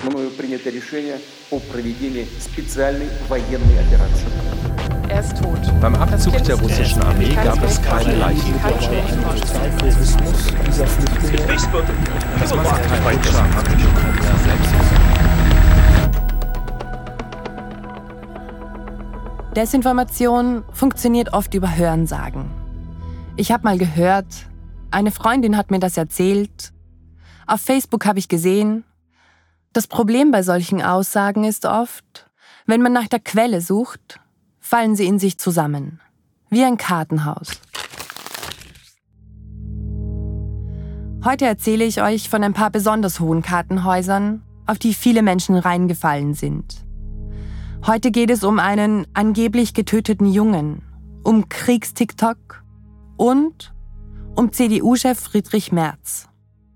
мною принято решение о проведении специальной военной операции. Er ist tot. Beim Abzug der russischen Armee gab es keine Leichen. Das Massaker deutscher Amerikaner selbst. Desinformation funktioniert oft über Hörensagen. Ich habe mal gehört, eine Freundin hat mir das erzählt, auf Facebook habe ich gesehen. Das Problem bei solchen Aussagen ist oft, wenn man nach der Quelle sucht, fallen sie in sich zusammen, wie ein Kartenhaus. Heute erzähle ich euch von ein paar besonders hohen Kartenhäusern, auf die viele Menschen reingefallen sind. Heute geht es um einen angeblich getöteten Jungen, um Kriegs-TikTok und um CDU-Chef Friedrich Merz.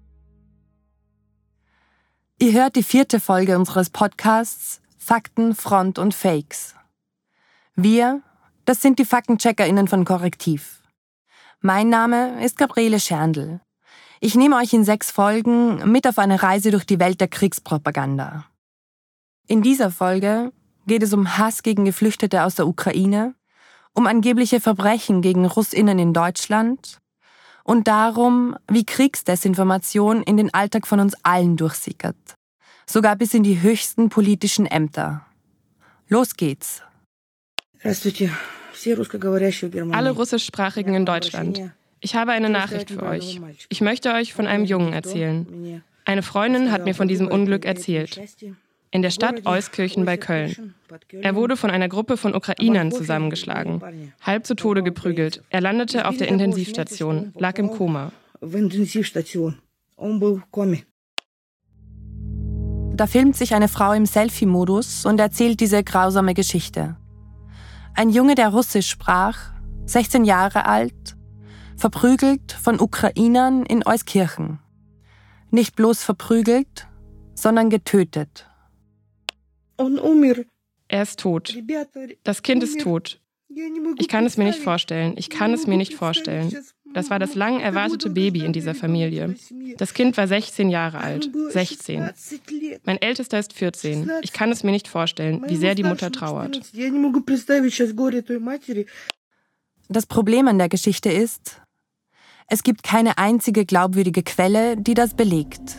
Ihr hört die 4. Folge unseres Podcasts Fakten, Front und Fakes. Wir, das sind die FaktencheckerInnen von Korrektiv. Mein Name ist Gabriele Scherndl. Ich nehme euch in 6 Folgen mit auf eine Reise durch die Welt der Kriegspropaganda. In dieser Folge geht es um Hass gegen Geflüchtete aus der Ukraine, um angebliche Verbrechen gegen RussInnen in Deutschland und darum, wie Kriegsdesinformation in den Alltag von uns allen durchsickert. Sogar bis in die höchsten politischen Ämter. Los geht's. Alle Russischsprachigen in Deutschland. Ich habe eine Nachricht für euch. Ich möchte euch von einem Jungen erzählen. Eine Freundin hat mir von diesem Unglück erzählt. In der Stadt Euskirchen bei Köln. Er wurde von einer Gruppe von Ukrainern zusammengeschlagen, halb zu Tode geprügelt. Er landete auf der Intensivstation, lag im Koma. Da filmt sich eine Frau im Selfie-Modus und erzählt diese grausame Geschichte. Ein Junge, der Russisch sprach, 16 Jahre alt, verprügelt von Ukrainern in Euskirchen. Nicht bloß verprügelt, sondern getötet. Er ist tot. Das Kind ist tot. Ich kann es mir nicht vorstellen. Ich kann es mir nicht vorstellen. Das war das lang erwartete Baby in dieser Familie. Das Kind war 16 Jahre alt. 16. Mein Ältester ist 14. Ich kann es mir nicht vorstellen, wie sehr die Mutter trauert. Das Problem an der Geschichte ist, es gibt keine einzige glaubwürdige Quelle, die das belegt.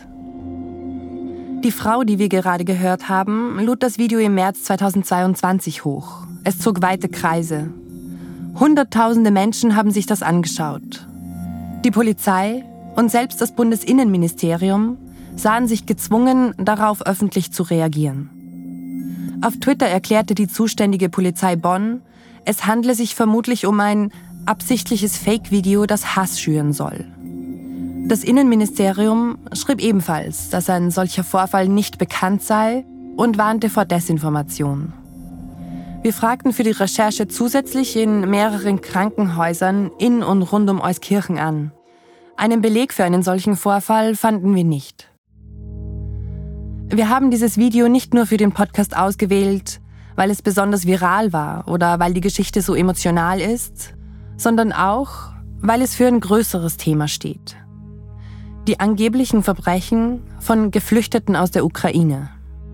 Die Frau, die wir gerade gehört haben, lud das Video im März 2022 hoch. Es zog weite Kreise. Hunderttausende Menschen haben sich das angeschaut. Die Polizei und selbst das Bundesinnenministerium sahen sich gezwungen, darauf öffentlich zu reagieren. Auf Twitter erklärte die zuständige Polizei Bonn, es handle sich vermutlich um ein absichtliches Fake-Video, das Hass schüren soll. Das Innenministerium schrieb ebenfalls, dass ein solcher Vorfall nicht bekannt sei und warnte vor Desinformation. Wir fragten für die Recherche zusätzlich in mehreren Krankenhäusern in und rund um Euskirchen an. Einen Beleg für einen solchen Vorfall fanden wir nicht. Wir haben dieses Video nicht nur für den Podcast ausgewählt, weil es besonders viral war oder weil die Geschichte so emotional ist, sondern auch, weil es für ein größeres Thema steht. Die angeblichen Verbrechen von Geflüchteten aus der Ukraine.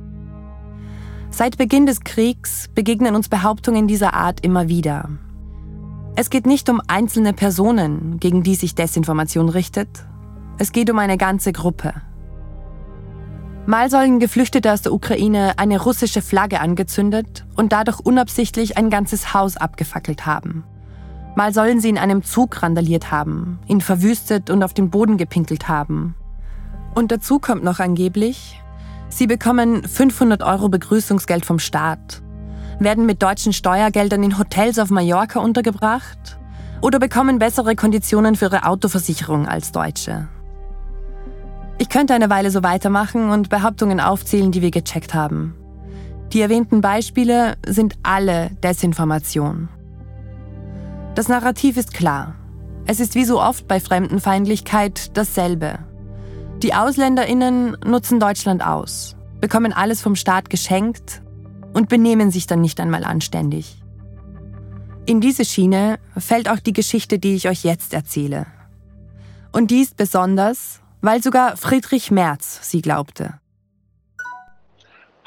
Seit Beginn des Kriegs begegnen uns Behauptungen dieser Art immer wieder. Es geht nicht um einzelne Personen, gegen die sich Desinformation richtet. Es geht um eine ganze Gruppe. Mal sollen Geflüchtete aus der Ukraine eine russische Flagge angezündet und dadurch unabsichtlich ein ganzes Haus abgefackelt haben. Mal sollen sie in einem Zug randaliert haben, ihn verwüstet und auf den Boden gepinkelt haben. Und dazu kommt noch angeblich, sie bekommen 500 € Begrüßungsgeld vom Staat, werden mit deutschen Steuergeldern in Hotels auf Mallorca untergebracht oder bekommen bessere Konditionen für ihre Autoversicherung als Deutsche. Ich könnte eine Weile so weitermachen und Behauptungen aufzählen, die wir gecheckt haben. Die erwähnten Beispiele sind alle Desinformation. Das Narrativ ist klar. Es ist wie so oft bei Fremdenfeindlichkeit dasselbe. Die AusländerInnen nutzen Deutschland aus, bekommen alles vom Staat geschenkt und benehmen sich dann nicht einmal anständig. In diese Schiene fällt auch die Geschichte, die ich euch jetzt erzähle. Und die ist besonders, weil sogar Friedrich Merz sie glaubte.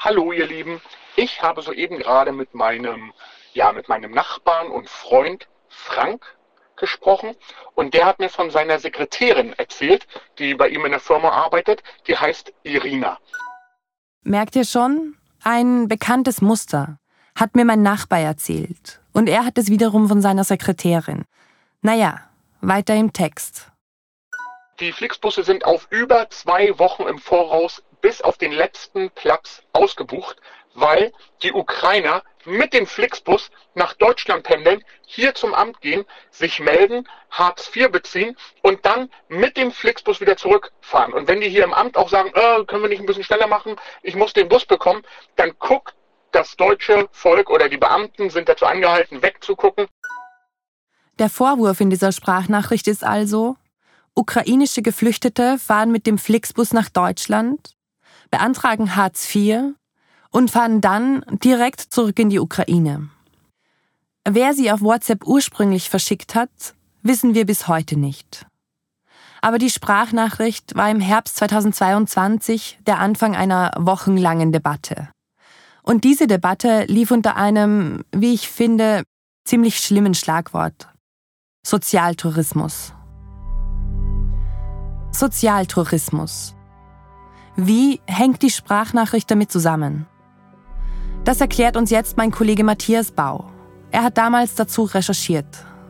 Hallo ihr Lieben, ich habe soeben gerade mit meinem Nachbarn und Freund Frank gesprochen und der hat mir von seiner Sekretärin erzählt, die bei ihm in der Firma arbeitet, die heißt Irina. Merkt ihr schon? Ein bekanntes Muster, hat mir mein Nachbar erzählt. Und er hat es wiederum von seiner Sekretärin. Naja, weiter im Text. Die Flixbusse sind auf über 2 Wochen im Voraus bis auf den letzten Platz ausgebucht, weil die Ukrainer mit dem Flixbus nach Deutschland pendeln, hier zum Amt gehen, sich melden, Hartz IV beziehen und dann mit dem Flixbus wieder zurückfahren. Und wenn die hier im Amt auch sagen, können wir nicht ein bisschen schneller machen, ich muss den Bus bekommen, dann guckt das deutsche Volk oder die Beamten sind dazu angehalten, wegzugucken. Der Vorwurf in dieser Sprachnachricht ist also: Ukrainische Geflüchtete fahren mit dem Flixbus nach Deutschland, beantragen Hartz IV und fahren dann direkt zurück in die Ukraine. Wer sie auf WhatsApp ursprünglich verschickt hat, wissen wir bis heute nicht. Aber die Sprachnachricht war im Herbst 2022 der Anfang einer wochenlangen Debatte. Und diese Debatte lief unter einem, wie ich finde, ziemlich schlimmen Schlagwort: Sozialtourismus. Sozialtourismus. Wie hängt die Sprachnachricht damit zusammen? Das erklärt uns jetzt mein Kollege Matthias Bau. Er hat damals dazu recherchiert.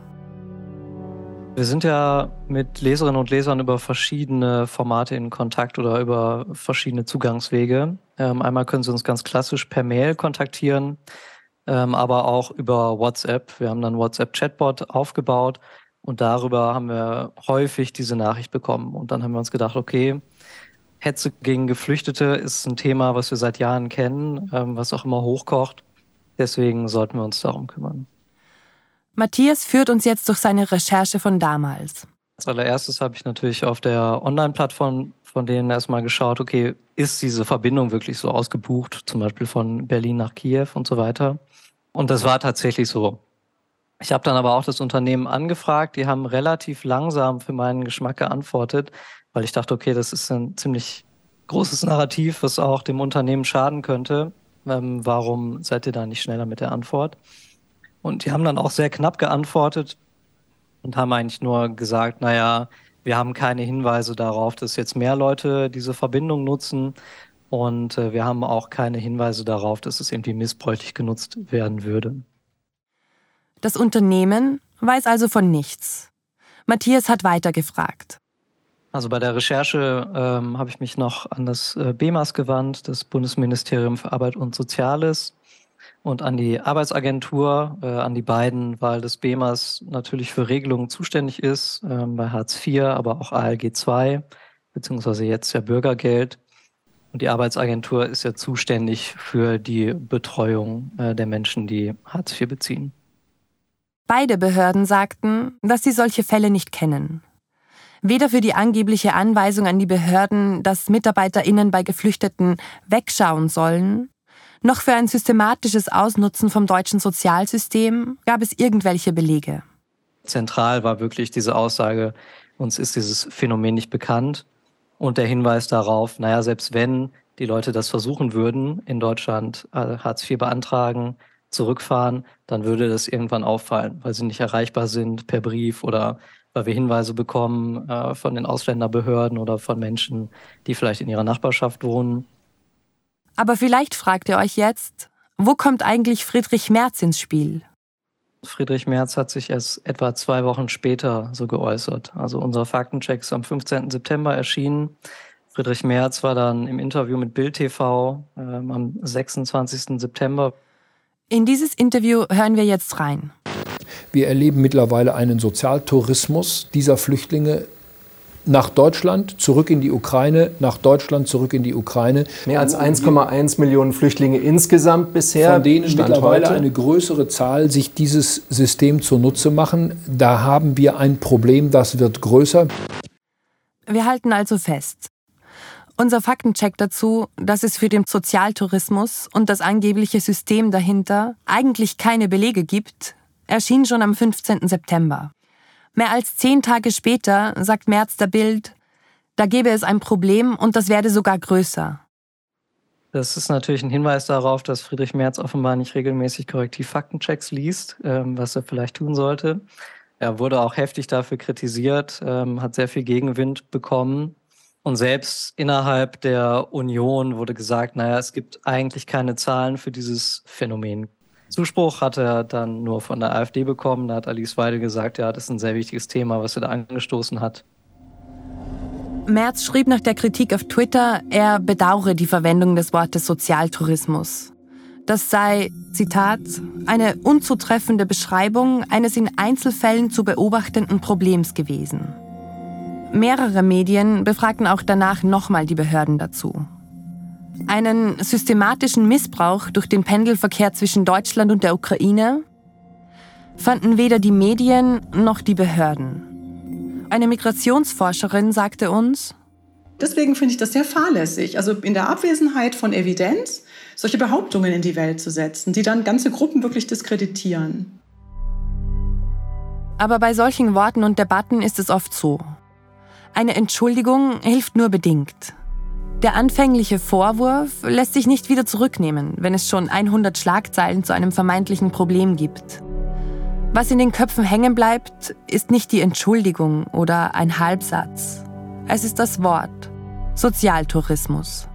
Wir sind ja mit Leserinnen und Lesern über verschiedene Formate in Kontakt oder über verschiedene Zugangswege. Einmal können Sie uns ganz klassisch per Mail kontaktieren, aber auch über WhatsApp. Wir haben dann einen WhatsApp-Chatbot aufgebaut und darüber haben wir häufig diese Nachricht bekommen. Und dann haben wir uns gedacht, okay, Hetze gegen Geflüchtete ist ein Thema, was wir seit Jahren kennen, was auch immer hochkocht. Deswegen sollten wir uns darum kümmern. Matthias führt uns jetzt durch seine Recherche von damals. Als allererstes habe ich natürlich auf der Online-Plattform von denen erstmal geschaut, okay, ist diese Verbindung wirklich so ausgebucht, zum Beispiel von Berlin nach Kiew und so weiter. Und das war tatsächlich so. Ich habe dann aber auch das Unternehmen angefragt, die haben relativ langsam für meinen Geschmack geantwortet, weil ich dachte, okay, das ist ein ziemlich großes Narrativ, was auch dem Unternehmen schaden könnte. Warum seid ihr da nicht schneller mit der Antwort? Und die haben dann auch sehr knapp geantwortet und haben eigentlich nur gesagt, naja, wir haben keine Hinweise darauf, dass jetzt mehr Leute diese Verbindung nutzen und wir haben auch keine Hinweise darauf, dass es irgendwie missbräuchlich genutzt werden würde. Das Unternehmen weiß also von nichts. Matthias hat weitergefragt. Also bei der Recherche habe ich mich noch an das BEMAS gewandt, das Bundesministerium für Arbeit und Soziales, und an die Arbeitsagentur, an die beiden, weil das BEMAS natürlich für Regelungen zuständig ist, bei Hartz IV, aber auch ALG II, beziehungsweise jetzt ja Bürgergeld. Und die Arbeitsagentur ist ja zuständig für die Betreuung der Menschen, die Hartz IV beziehen. Beide Behörden sagten, dass sie solche Fälle nicht kennen. Weder für die angebliche Anweisung an die Behörden, dass MitarbeiterInnen bei Geflüchteten wegschauen sollen, noch für ein systematisches Ausnutzen vom deutschen Sozialsystem gab es irgendwelche Belege. Zentral war wirklich diese Aussage, uns ist dieses Phänomen nicht bekannt. Und der Hinweis darauf, naja, selbst wenn die Leute das versuchen würden, in Deutschland Hartz IV beantragen, zurückfahren, dann würde das irgendwann auffallen, weil sie nicht erreichbar sind per Brief oder weil wir Hinweise bekommen von den Ausländerbehörden oder von Menschen, die vielleicht in ihrer Nachbarschaft wohnen. Aber vielleicht fragt ihr euch jetzt, wo kommt eigentlich Friedrich Merz ins Spiel? Friedrich Merz hat sich erst etwa 2 Wochen später so geäußert. Also unser Faktencheck ist am 15. September erschienen. Friedrich Merz war dann im Interview mit Bild TV am 26. September. In dieses Interview hören wir jetzt rein. Wir erleben mittlerweile einen Sozialtourismus dieser Flüchtlinge nach Deutschland, zurück in die Ukraine, nach Deutschland, zurück in die Ukraine. Mehr als 1,1 Millionen Flüchtlinge insgesamt bisher. Von denen Stand mittlerweile heute eine größere Zahl sich dieses System zunutze machen. Da haben wir ein Problem, das wird größer. Wir halten also fest. Unser Faktencheck dazu, dass es für den Sozialtourismus und das angebliche System dahinter eigentlich keine Belege gibt, erschien schon am 15. September. Mehr als 10 Tage später sagt Merz der Bild, da gäbe es ein Problem und das werde sogar größer. Das ist natürlich ein Hinweis darauf, dass Friedrich Merz offenbar nicht regelmäßig korrektiv Faktenchecks liest, was er vielleicht tun sollte. Er wurde auch heftig dafür kritisiert, hat sehr viel Gegenwind bekommen. Und selbst innerhalb der Union wurde gesagt, naja, es gibt eigentlich keine Zahlen für dieses Phänomen. Zuspruch hat er dann nur von der AfD bekommen. Da hat Alice Weidel gesagt, ja, das ist ein sehr wichtiges Thema, was er da angestoßen hat. Merz schrieb nach der Kritik auf Twitter, er bedauere die Verwendung des Wortes Sozialtourismus. Das sei, Zitat, eine unzutreffende Beschreibung eines in Einzelfällen zu beobachtenden Problems gewesen. Mehrere Medien befragten auch danach nochmal die Behörden dazu. Einen systematischen Missbrauch durch den Pendelverkehr zwischen Deutschland und der Ukraine fanden weder die Medien noch die Behörden. Eine Migrationsforscherin sagte uns: Deswegen finde ich das sehr fahrlässig, also in der Abwesenheit von Evidenz solche Behauptungen in die Welt zu setzen, die dann ganze Gruppen wirklich diskreditieren. Aber bei solchen Worten und Debatten ist es oft so. Eine Entschuldigung hilft nur bedingt. Der anfängliche Vorwurf lässt sich nicht wieder zurücknehmen, wenn es schon 100 Schlagzeilen zu einem vermeintlichen Problem gibt. Was in den Köpfen hängen bleibt, ist nicht die Entschuldigung oder ein Halbsatz. Es ist das Wort Sozialtourismus.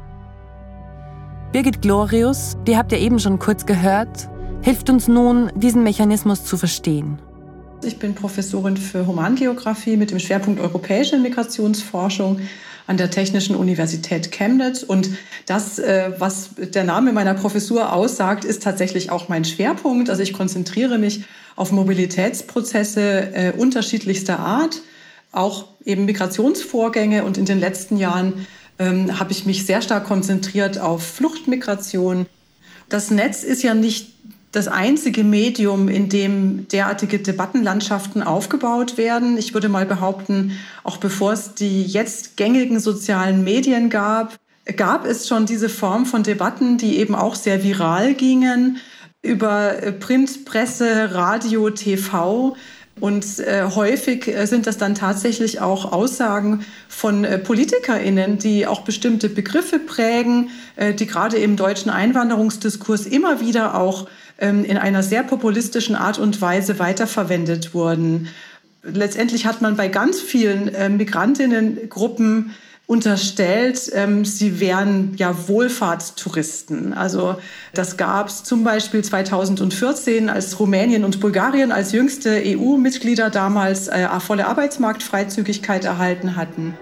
Birgit Glorius, die habt ihr eben schon kurz gehört, hilft uns nun, diesen Mechanismus zu verstehen. Ich bin Professorin für Humangeografie mit dem Schwerpunkt Europäische Migrationsforschung an der Technischen Universität Chemnitz. Und das, was der Name meiner Professur aussagt, ist tatsächlich auch mein Schwerpunkt. Also ich konzentriere mich auf Mobilitätsprozesse unterschiedlichster Art, auch eben Migrationsvorgänge. Und in den letzten Jahren habe ich mich sehr stark konzentriert auf Fluchtmigration. Das Netz ist ja nicht das einzige Medium, in dem derartige Debattenlandschaften aufgebaut werden. Ich würde mal behaupten, auch bevor es die jetzt gängigen sozialen Medien gab es schon diese Form von Debatten, die eben auch sehr viral gingen, über Print, Presse, Radio, TV. Und häufig sind das dann tatsächlich auch Aussagen von PolitikerInnen, die auch bestimmte Begriffe prägen, die gerade im deutschen Einwanderungsdiskurs immer wieder auch in einer sehr populistischen Art und Weise weiterverwendet wurden. Letztendlich hat man bei ganz vielen Migrantinnengruppen unterstellt, sie wären ja Wohlfahrtstouristen. Also das gab es zum Beispiel 2014, als Rumänien und Bulgarien als jüngste EU-Mitglieder damals volle Arbeitsmarktfreizügigkeit erhalten hatten.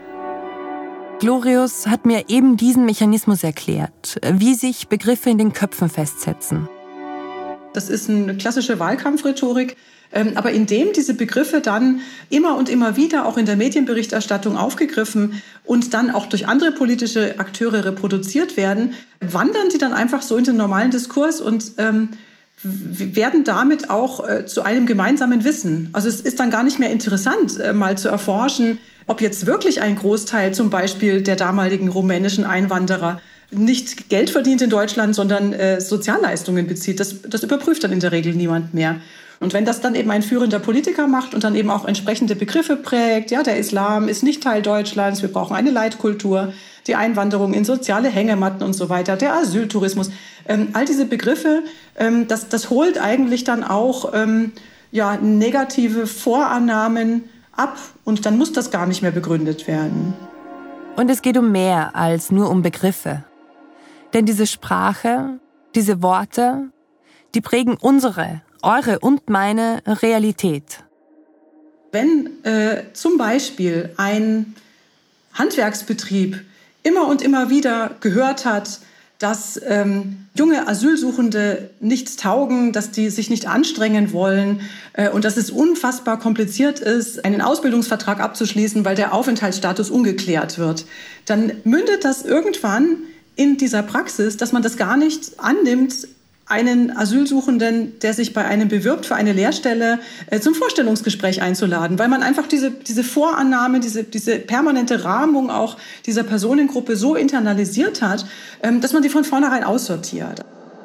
Glorius hat mir eben diesen Mechanismus erklärt, wie sich Begriffe in den Köpfen festsetzen. Das ist eine klassische Wahlkampfrhetorik, aber indem diese Begriffe dann immer und immer wieder auch in der Medienberichterstattung aufgegriffen und dann auch durch andere politische Akteure reproduziert werden, wandern sie dann einfach so in den normalen Diskurs und werden damit auch zu einem gemeinsamen Wissen. Also es ist dann gar nicht mehr interessant, mal zu erforschen, ob jetzt wirklich ein Großteil zum Beispiel der damaligen rumänischen Einwanderer nicht Geld verdient in Deutschland, sondern Sozialleistungen bezieht. Das überprüft dann in der Regel niemand mehr. Und wenn das dann eben ein führender Politiker macht und dann eben auch entsprechende Begriffe prägt, ja, der Islam ist nicht Teil Deutschlands, wir brauchen eine Leitkultur, die Einwanderung in soziale Hängematten und so weiter, der Asyltourismus, all diese Begriffe, das holt eigentlich dann auch negative Vorannahmen ab und dann muss das gar nicht mehr begründet werden. Und es geht um mehr als nur um Begriffe. Denn diese Sprache, diese Worte, die prägen eure und meine Realität. Wenn zum Beispiel ein Handwerksbetrieb immer und immer wieder gehört hat, dass junge Asylsuchende nichts taugen, dass die sich nicht anstrengen wollen und dass es unfassbar kompliziert ist, einen Ausbildungsvertrag abzuschließen, weil der Aufenthaltsstatus ungeklärt wird, dann mündet das irgendwann in dieser Praxis, dass man das gar nicht annimmt, einen Asylsuchenden, der sich bei einem bewirbt für eine Lehrstelle, zum Vorstellungsgespräch einzuladen, weil man einfach diese Vorannahme, diese permanente Rahmung auch dieser Personengruppe so internalisiert hat, dass man sie von vornherein aussortiert.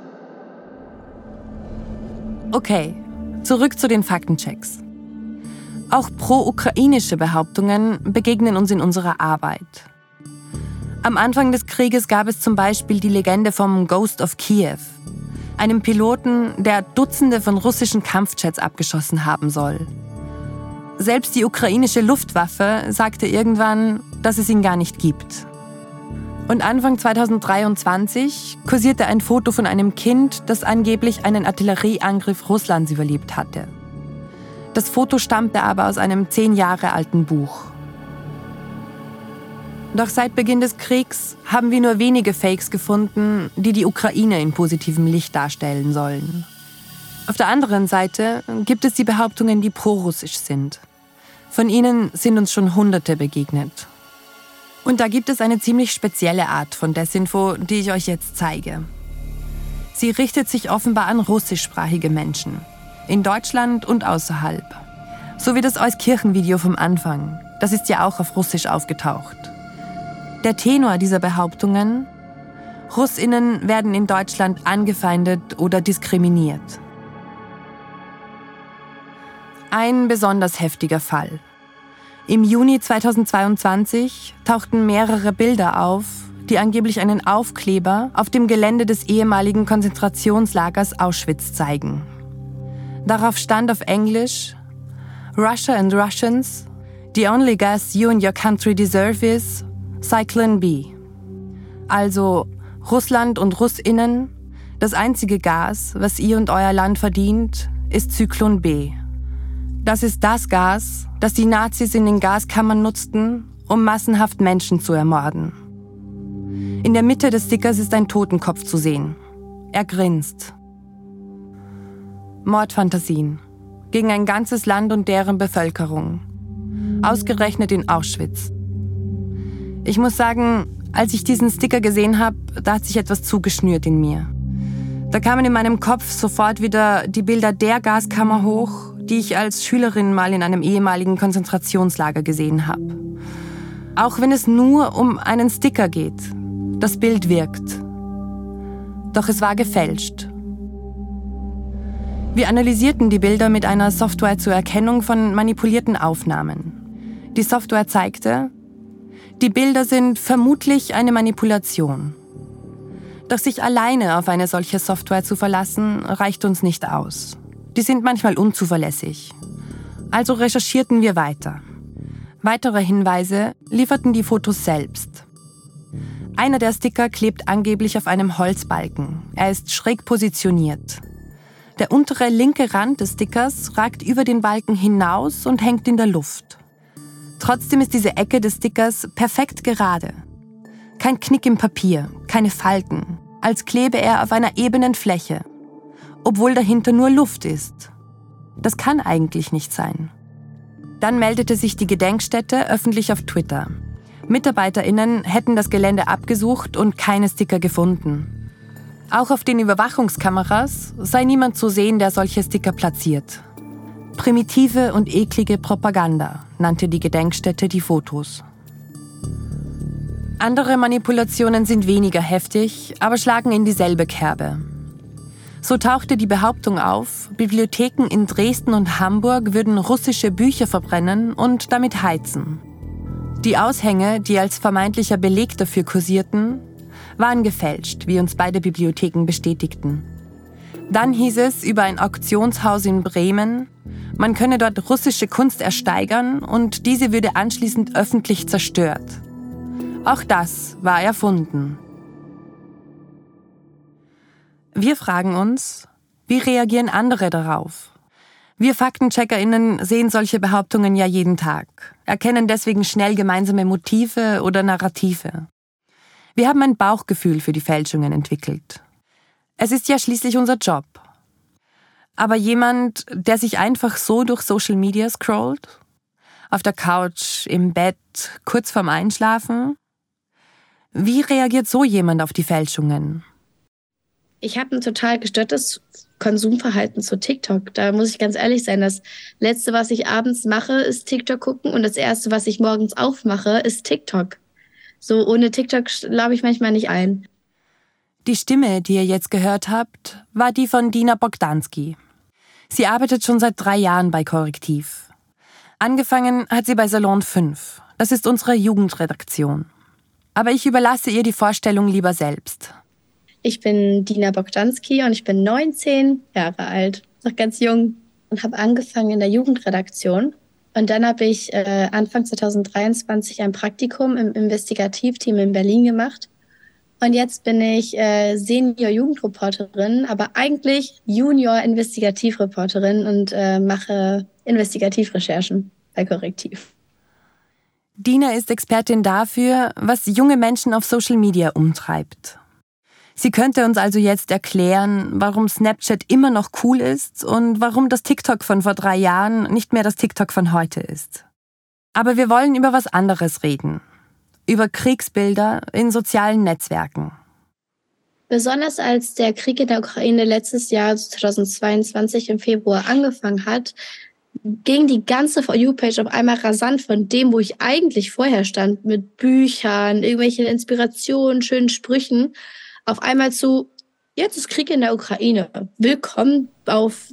Okay, zurück zu den Faktenchecks. Auch pro-ukrainische Behauptungen begegnen uns in unserer Arbeit. Am Anfang des Krieges gab es zum Beispiel die Legende vom Ghost of Kiev, einem Piloten, der Dutzende von russischen Kampfjets abgeschossen haben soll. Selbst die ukrainische Luftwaffe sagte irgendwann, dass es ihn gar nicht gibt. Und Anfang 2023 kursierte ein Foto von einem Kind, das angeblich einen Artillerieangriff Russlands überlebt hatte. Das Foto stammte aber aus einem 10 Jahre alten Buch. Doch seit Beginn des Kriegs haben wir nur wenige Fakes gefunden, die die Ukraine in positivem Licht darstellen sollen. Auf der anderen Seite gibt es die Behauptungen, die prorussisch sind. Von ihnen sind uns schon Hunderte begegnet. Und da gibt es eine ziemlich spezielle Art von Desinfo, die ich euch jetzt zeige. Sie richtet sich offenbar an russischsprachige Menschen, in Deutschland und außerhalb. So wie das Euskirchen-Video vom Anfang, das ist ja auch auf Russisch aufgetaucht. Der Tenor dieser Behauptungen: RussInnen werden in Deutschland angefeindet oder diskriminiert. Ein besonders heftiger Fall. Im Juni 2022 tauchten mehrere Bilder auf, die angeblich einen Aufkleber auf dem Gelände des ehemaligen Konzentrationslagers Auschwitz zeigen. Darauf stand auf Englisch: Russia and Russians, the only gas you and your country deserve is Zyklon B. Also Russland und RussInnen, das einzige Gas, was ihr und euer Land verdient, ist Zyklon B. Das ist das Gas, das die Nazis in den Gaskammern nutzten, um massenhaft Menschen zu ermorden. In der Mitte des Stickers ist ein Totenkopf zu sehen. Er grinst. Mordfantasien gegen ein ganzes Land und deren Bevölkerung. Ausgerechnet in Auschwitz. Ich muss sagen, als ich diesen Sticker gesehen habe, da hat sich etwas zugeschnürt in mir. Da kamen in meinem Kopf sofort wieder die Bilder der Gaskammer hoch, die ich als Schülerin mal in einem ehemaligen Konzentrationslager gesehen habe. Auch wenn es nur um einen Sticker geht. Das Bild wirkt. Doch es war gefälscht. Wir analysierten die Bilder mit einer Software zur Erkennung von manipulierten Aufnahmen. Die Software zeigte, die Bilder sind vermutlich eine Manipulation. Doch sich alleine auf eine solche Software zu verlassen, reicht uns nicht aus. Die sind manchmal unzuverlässig. Also recherchierten wir weiter. Weitere Hinweise lieferten die Fotos selbst. Einer der Sticker klebt angeblich auf einem Holzbalken. Er ist schräg positioniert. Der untere linke Rand des Stickers ragt über den Balken hinaus und hängt in der Luft. Trotzdem ist diese Ecke des Stickers perfekt gerade. Kein Knick im Papier, keine Falten, als klebe er auf einer ebenen Fläche, obwohl dahinter nur Luft ist. Das kann eigentlich nicht sein. Dann meldete sich die Gedenkstätte öffentlich auf Twitter. MitarbeiterInnen hätten das Gelände abgesucht und keine Sticker gefunden. Auch auf den Überwachungskameras sei niemand zu sehen, der solche Sticker platziert. Primitive und eklige Propaganda nannte die Gedenkstätte die Fotos. Andere Manipulationen sind weniger heftig, aber schlagen in dieselbe Kerbe. So tauchte die Behauptung auf, Bibliotheken in Dresden und Hamburg würden russische Bücher verbrennen und damit heizen. Die Aushänge, die als vermeintlicher Beleg dafür kursierten, waren gefälscht, wie uns beide Bibliotheken bestätigten. Dann hieß es über ein Auktionshaus in Bremen, man könne dort russische Kunst ersteigern und diese würde anschließend öffentlich zerstört. Auch das war erfunden. Wir fragen uns, wie reagieren andere darauf? Wir FaktencheckerInnen sehen solche Behauptungen ja jeden Tag, erkennen deswegen schnell gemeinsame Motive oder Narrative. Wir haben ein Bauchgefühl für die Fälschungen entwickelt. Es ist ja schließlich unser Job. Aber jemand, der sich einfach so durch Social Media scrollt, auf der Couch, im Bett, kurz vorm Einschlafen, wie reagiert so jemand auf die Fälschungen? Ich habe ein total gestörtes Konsumverhalten zu TikTok. Da muss ich ganz ehrlich sein, das Letzte, was ich abends mache, ist TikTok gucken und das Erste, was ich morgens aufmache, ist TikTok. So ohne TikTok schlafe ich manchmal nicht ein. Die Stimme, die ihr jetzt gehört habt, war die von Dina Bogdanski. Sie arbeitet schon seit 3 Jahren bei Korrektiv. Angefangen hat sie bei Salon 5. Das ist unsere Jugendredaktion. Aber ich überlasse ihr die Vorstellung lieber selbst. Ich bin Dina Bogdanski und ich bin 19 Jahre alt, noch ganz jung und habe angefangen in der Jugendredaktion. Und dann habe ich Anfang 2023 ein Praktikum im Investigativteam in Berlin gemacht. Und jetzt bin ich Senior-Jugendreporterin, aber eigentlich Junior-Investigativreporterin und mache Investigativrecherchen bei Korrektiv. Dina ist Expertin dafür, was junge Menschen auf Social Media umtreibt. Sie könnte uns also jetzt erklären, warum Snapchat immer noch cool ist und warum das TikTok von vor 3 Jahren nicht mehr das TikTok von heute ist. Aber wir wollen über was anderes reden. Über Kriegsbilder in sozialen Netzwerken. Besonders als der Krieg in der Ukraine letztes Jahr 2022 im Februar angefangen hat, ging die ganze For You-Page auf einmal rasant von dem, wo ich eigentlich vorher stand, mit Büchern, irgendwelchen Inspirationen, schönen Sprüchen, auf einmal zu, jetzt ist Krieg in der Ukraine. Willkommen auf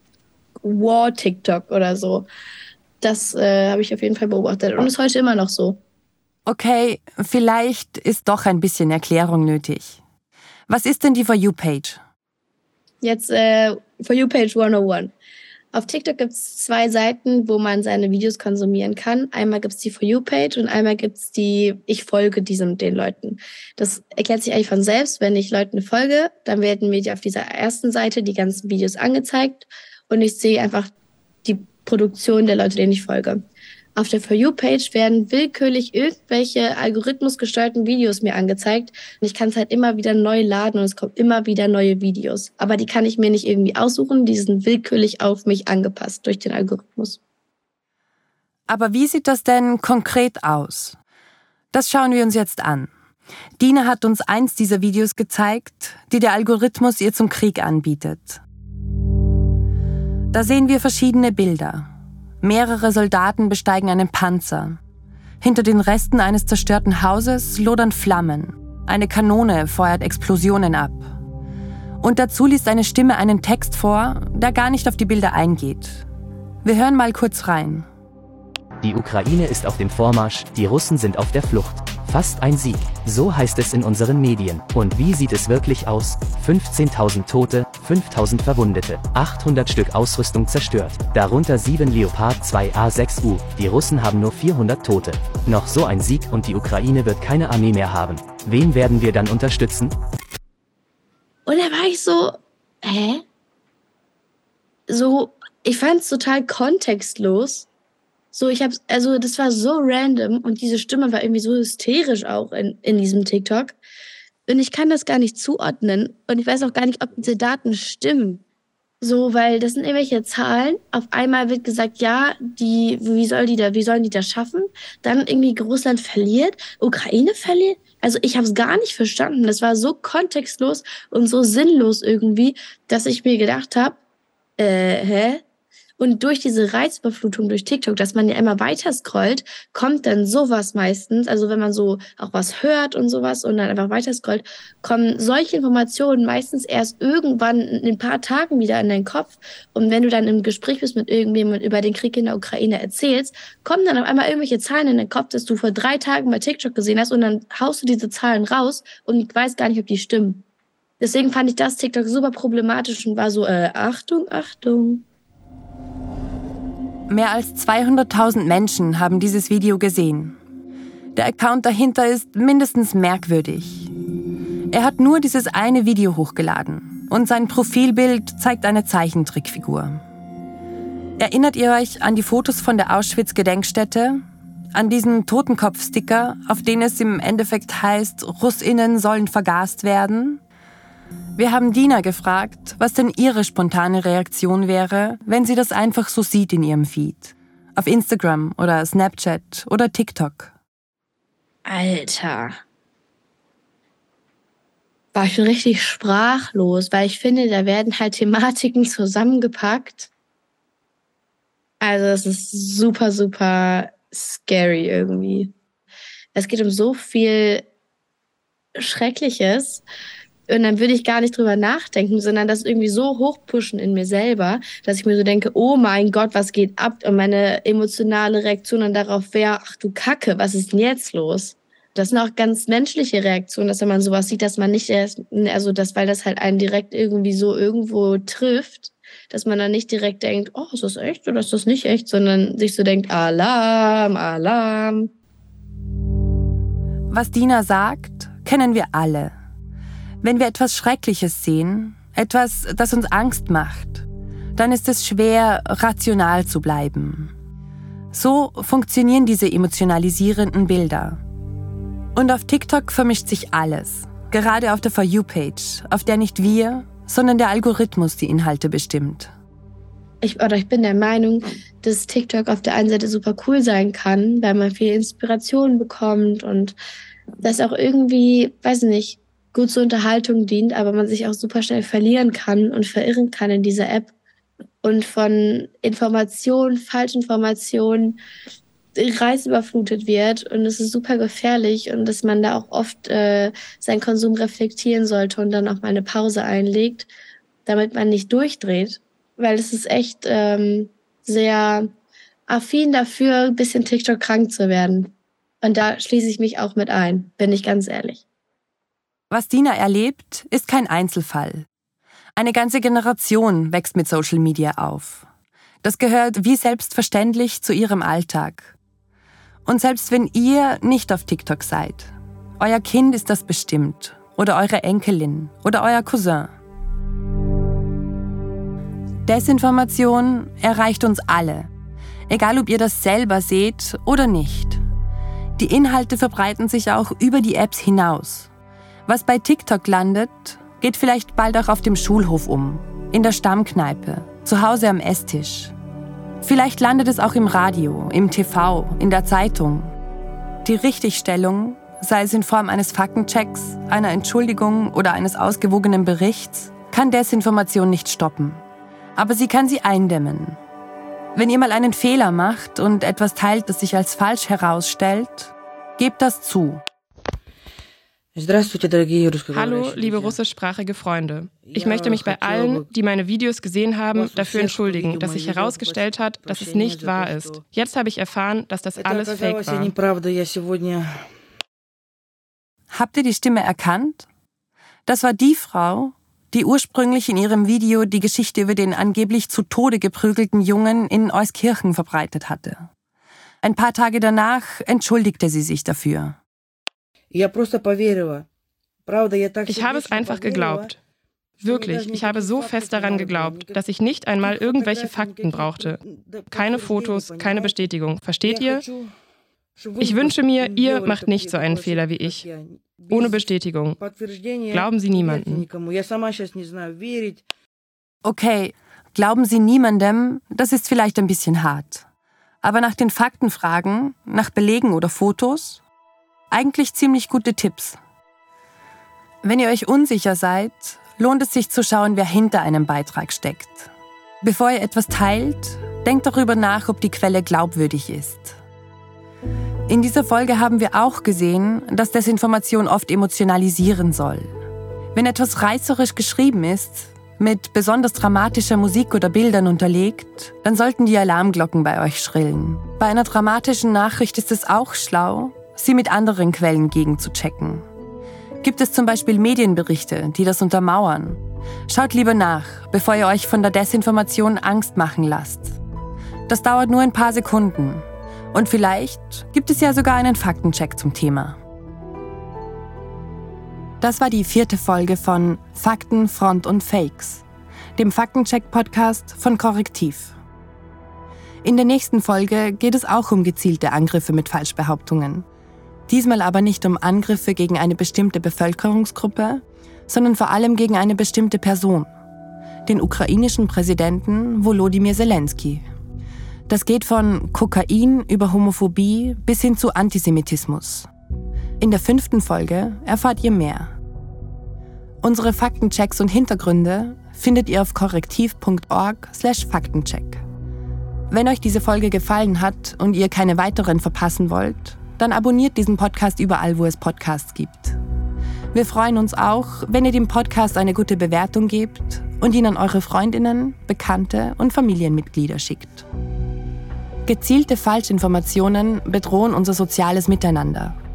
War-TikTok oder so. Das habe ich auf jeden Fall beobachtet und ist heute immer noch so. Okay, vielleicht ist doch ein bisschen Erklärung nötig. Was ist denn die For You-Page? Jetzt For You-Page 101. Auf TikTok gibt es 2 Seiten, wo man seine Videos konsumieren kann. Einmal gibt es die For You-Page und einmal gibt es die Ich folge den Leuten. Das erklärt sich eigentlich von selbst. Wenn ich Leuten folge, dann werden mir auf dieser ersten Seite die ganzen Videos angezeigt und ich sehe einfach die Produktion der Leute, denen ich folge. Auf der For You-Page werden willkürlich irgendwelche algorithmusgesteuerten Videos mir angezeigt. Und ich kann es halt immer wieder neu laden und es kommen immer wieder neue Videos. Aber die kann ich mir nicht irgendwie aussuchen, die sind willkürlich auf mich angepasst durch den Algorithmus. Aber wie sieht das denn konkret aus? Das schauen wir uns jetzt an. Dina hat uns eins dieser Videos gezeigt, die der Algorithmus ihr zum Krieg anbietet. Da sehen wir verschiedene Bilder. Mehrere Soldaten besteigen einen Panzer. Hinter den Resten eines zerstörten Hauses lodern Flammen. Eine Kanone feuert Explosionen ab. Und dazu liest eine Stimme einen Text vor, der gar nicht auf die Bilder eingeht. Wir hören mal kurz rein. Die Ukraine ist auf dem Vormarsch, die Russen sind auf der Flucht. Fast ein Sieg, so heißt es in unseren Medien. Und wie sieht es wirklich aus? 15.000 Tote, 5.000 Verwundete, 800 Stück Ausrüstung zerstört, darunter 7 Leopard 2 A6U. Die Russen haben nur 400 Tote. Noch so ein Sieg und die Ukraine wird keine Armee mehr haben. Wen werden wir dann unterstützen? Und da war ich so, hä? So, ich fand es total kontextlos. So, das war so random und diese Stimme war irgendwie so hysterisch auch in diesem TikTok. Und ich kann das gar nicht zuordnen und ich weiß auch gar nicht, ob diese stimmen. So, weil das sind irgendwelche Zahlen. Auf einmal wird gesagt, ja, wie sollen die das schaffen? Dann irgendwie Russland verliert, Ukraine verliert. Also ich habe es gar nicht verstanden. Das war so kontextlos und so sinnlos irgendwie, dass ich mir gedacht habe, hä? Und durch diese Reizüberflutung durch TikTok, dass man ja immer weiter scrollt, kommt dann sowas meistens, also wenn man so auch was hört und sowas und dann einfach weiter scrollt, kommen solche Informationen meistens erst irgendwann in ein paar Tagen wieder in deinen Kopf. Und wenn du dann im Gespräch bist mit irgendjemandem über den Krieg in der Ukraine erzählst, kommen dann auf einmal irgendwelche Zahlen in den Kopf, dass du vor 3 Tagen bei TikTok gesehen hast und dann haust du diese Zahlen raus und weißt gar nicht, ob die stimmen. Deswegen fand ich das TikTok super problematisch und war so, Achtung, Achtung. Mehr als 200.000 Menschen haben dieses Video gesehen. Der Account dahinter ist mindestens merkwürdig. Er hat nur dieses eine Video hochgeladen und sein Profilbild zeigt eine Zeichentrickfigur. Erinnert ihr euch an die Fotos von der Auschwitz-Gedenkstätte? An diesen Totenkopf-Sticker, auf denen es im Endeffekt heißt, RussInnen sollen vergast werden? Wir haben Dina gefragt, was denn ihre spontane Reaktion wäre, wenn sie das einfach so sieht in ihrem Feed. Auf Instagram oder Snapchat oder TikTok. Alter. War ich richtig sprachlos, weil ich finde, da werden halt Thematiken zusammengepackt. Also es ist super, super scary irgendwie. Es geht um so viel Schreckliches. Und dann würde ich gar nicht drüber nachdenken, sondern das irgendwie so hochpushen in mir selber, dass ich mir so denke, oh mein Gott, was geht ab? Und meine emotionale Reaktion dann darauf wäre, ach du Kacke, was ist denn jetzt los? Das sind auch ganz menschliche Reaktionen, dass wenn man sowas sieht, dass man nicht erst, also weil das halt einen direkt irgendwie so irgendwo trifft, dass man dann nicht direkt denkt, oh, ist das echt oder ist das nicht echt, sondern sich so denkt, Alarm, Alarm. Was Dina sagt, kennen wir alle. Wenn wir etwas Schreckliches sehen, etwas, das uns Angst macht, dann ist es schwer, rational zu bleiben. So funktionieren diese emotionalisierenden Bilder. Und auf TikTok vermischt sich alles. Gerade auf der For You-Page, auf der nicht wir, sondern der Algorithmus die Inhalte bestimmt. Ich bin der Meinung, dass TikTok auf der einen Seite super cool sein kann, weil man viel Inspiration bekommt und das auch irgendwie, weiß nicht, gut zur Unterhaltung dient, aber man sich auch super schnell verlieren kann und verirren kann in dieser App und von Informationen, Falschinformationen reizüberflutet wird und es ist super gefährlich und dass man da auch oft seinen Konsum reflektieren sollte und dann auch mal eine Pause einlegt, damit man nicht durchdreht, weil es ist echt sehr affin dafür, ein bisschen TikTok krank zu werden. Und da schließe ich mich auch mit ein, bin ich ganz ehrlich. Was Dina erlebt, ist kein Einzelfall. Eine ganze Generation wächst mit Social Media auf. Das gehört wie selbstverständlich zu ihrem Alltag. Und selbst wenn ihr nicht auf TikTok seid, euer Kind ist das bestimmt oder eure Enkelin oder euer Cousin. Desinformation erreicht uns alle, egal ob ihr das selber seht oder nicht. Die Inhalte verbreiten sich auch über die Apps hinaus. Was bei TikTok landet, geht vielleicht bald auch auf dem Schulhof um, in der Stammkneipe, zu Hause am Esstisch. Vielleicht landet es auch im Radio, im TV, in der Zeitung. Die Richtigstellung, sei es in Form eines Faktenchecks, einer Entschuldigung oder eines ausgewogenen Berichts, kann Desinformation nicht stoppen. Aber sie kann sie eindämmen. Wenn ihr mal einen Fehler macht und etwas teilt, das sich als falsch herausstellt, gebt das zu. Hallo, liebe russischsprachige Freunde. Ich möchte mich bei allen, die meine Videos gesehen haben, dafür entschuldigen, dass sich herausgestellt hat, dass es nicht wahr ist. Jetzt habe ich erfahren, dass das alles fake war. Habt ihr die Stimme erkannt? Das war die Frau, die ursprünglich in ihrem Video die Geschichte über den angeblich zu Tode geprügelten Jungen in Euskirchen verbreitet hatte. Ein paar Tage danach entschuldigte sie sich dafür. Ich habe es einfach geglaubt. Wirklich, ich habe so fest daran geglaubt, dass ich nicht einmal irgendwelche Fakten brauchte. Keine Fotos, keine Bestätigung. Versteht ihr? Ich wünsche mir, ihr macht nicht so einen Fehler wie ich. Ohne Bestätigung. Glauben Sie niemandem. Okay, glauben Sie niemandem, das ist vielleicht ein bisschen hart. Aber nach den Fakten fragen, nach Belegen oder Fotos? Eigentlich ziemlich gute Tipps. Wenn ihr euch unsicher seid, lohnt es sich zu schauen, wer hinter einem Beitrag steckt. Bevor ihr etwas teilt, denkt darüber nach, ob die Quelle glaubwürdig ist. In dieser Folge haben wir auch gesehen, dass Desinformation oft emotionalisieren soll. Wenn etwas reißerisch geschrieben ist, mit besonders dramatischer Musik oder Bildern unterlegt, dann sollten die Alarmglocken bei euch schrillen. Bei einer dramatischen Nachricht ist es auch schlau, sie mit anderen Quellen gegenzuchecken. Gibt es zum Beispiel Medienberichte, die das untermauern? Schaut lieber nach, bevor ihr euch von der Desinformation Angst machen lasst. Das dauert nur ein paar Sekunden. Und vielleicht gibt es ja sogar einen Faktencheck zum Thema. Das war die 4. Folge von Fakten, Front und Fakes, dem Faktencheck-Podcast von Korrektiv. In der nächsten Folge geht es auch um gezielte Angriffe mit Falschbehauptungen. Diesmal aber nicht um Angriffe gegen eine bestimmte Bevölkerungsgruppe, sondern vor allem gegen eine bestimmte Person, den ukrainischen Präsidenten Volodymyr Zelensky. Das geht von Kokain über Homophobie bis hin zu Antisemitismus. In der 5. Folge erfahrt ihr mehr. Unsere Faktenchecks und Hintergründe findet ihr auf korrektiv.org/Faktencheck. Wenn euch diese Folge gefallen hat und ihr keine weiteren verpassen wollt, dann abonniert diesen Podcast überall, wo es Podcasts gibt. Wir freuen uns auch, wenn ihr dem Podcast eine gute Bewertung gebt und ihn an eure Freundinnen, Bekannte und Familienmitglieder schickt. Gezielte Falschinformationen bedrohen unser soziales Miteinander.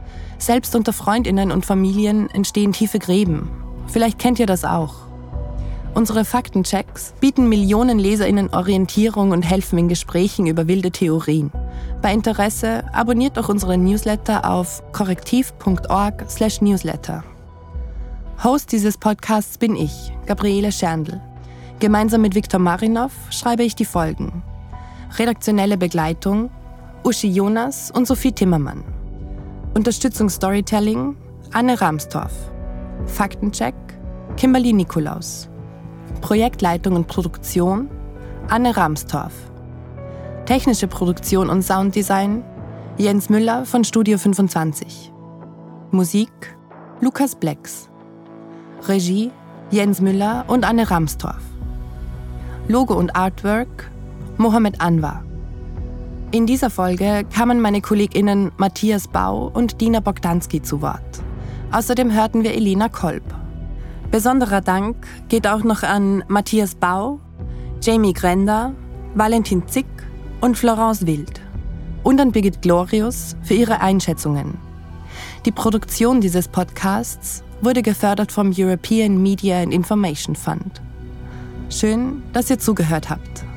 Selbst unter FreundInnen und Familien entstehen tiefe Gräben. Vielleicht kennt ihr das auch. Unsere Faktenchecks bieten Millionen LeserInnen Orientierung und helfen in Gesprächen über wilde Theorien. Bei Interesse abonniert doch unseren Newsletter auf korrektiv.org/newsletter. Host dieses Podcasts bin ich, Gabriele Scherndl. Gemeinsam mit Viktor Marinov schreibe ich die Folgen. Redaktionelle Begleitung Uschi Jonas und Sophie Timmermann. Unterstützung Storytelling Anne Ramstorff. Faktencheck Kimberly Nikolaus. Projektleitung und Produktion Anne Ramstorff. Technische Produktion und Sounddesign Jens Müller von Studio 25. Musik Lukas Blex. Regie Jens Müller und Anne Ramstorff. Logo und Artwork Mohammed Anwar. In dieser Folge kamen meine KollegInnen Matthias Bau und Dina Bogdanski zu Wort. Außerdem hörten wir Elena Kolb. Besonderer Dank geht auch noch an Matthias Bau, Jamie Grender, Valentin Zick und Florence Wild. Und an Birgit Glorius für ihre Einschätzungen. Die Produktion dieses Podcasts wurde gefördert vom European Media and Information Fund. Schön, dass ihr zugehört habt.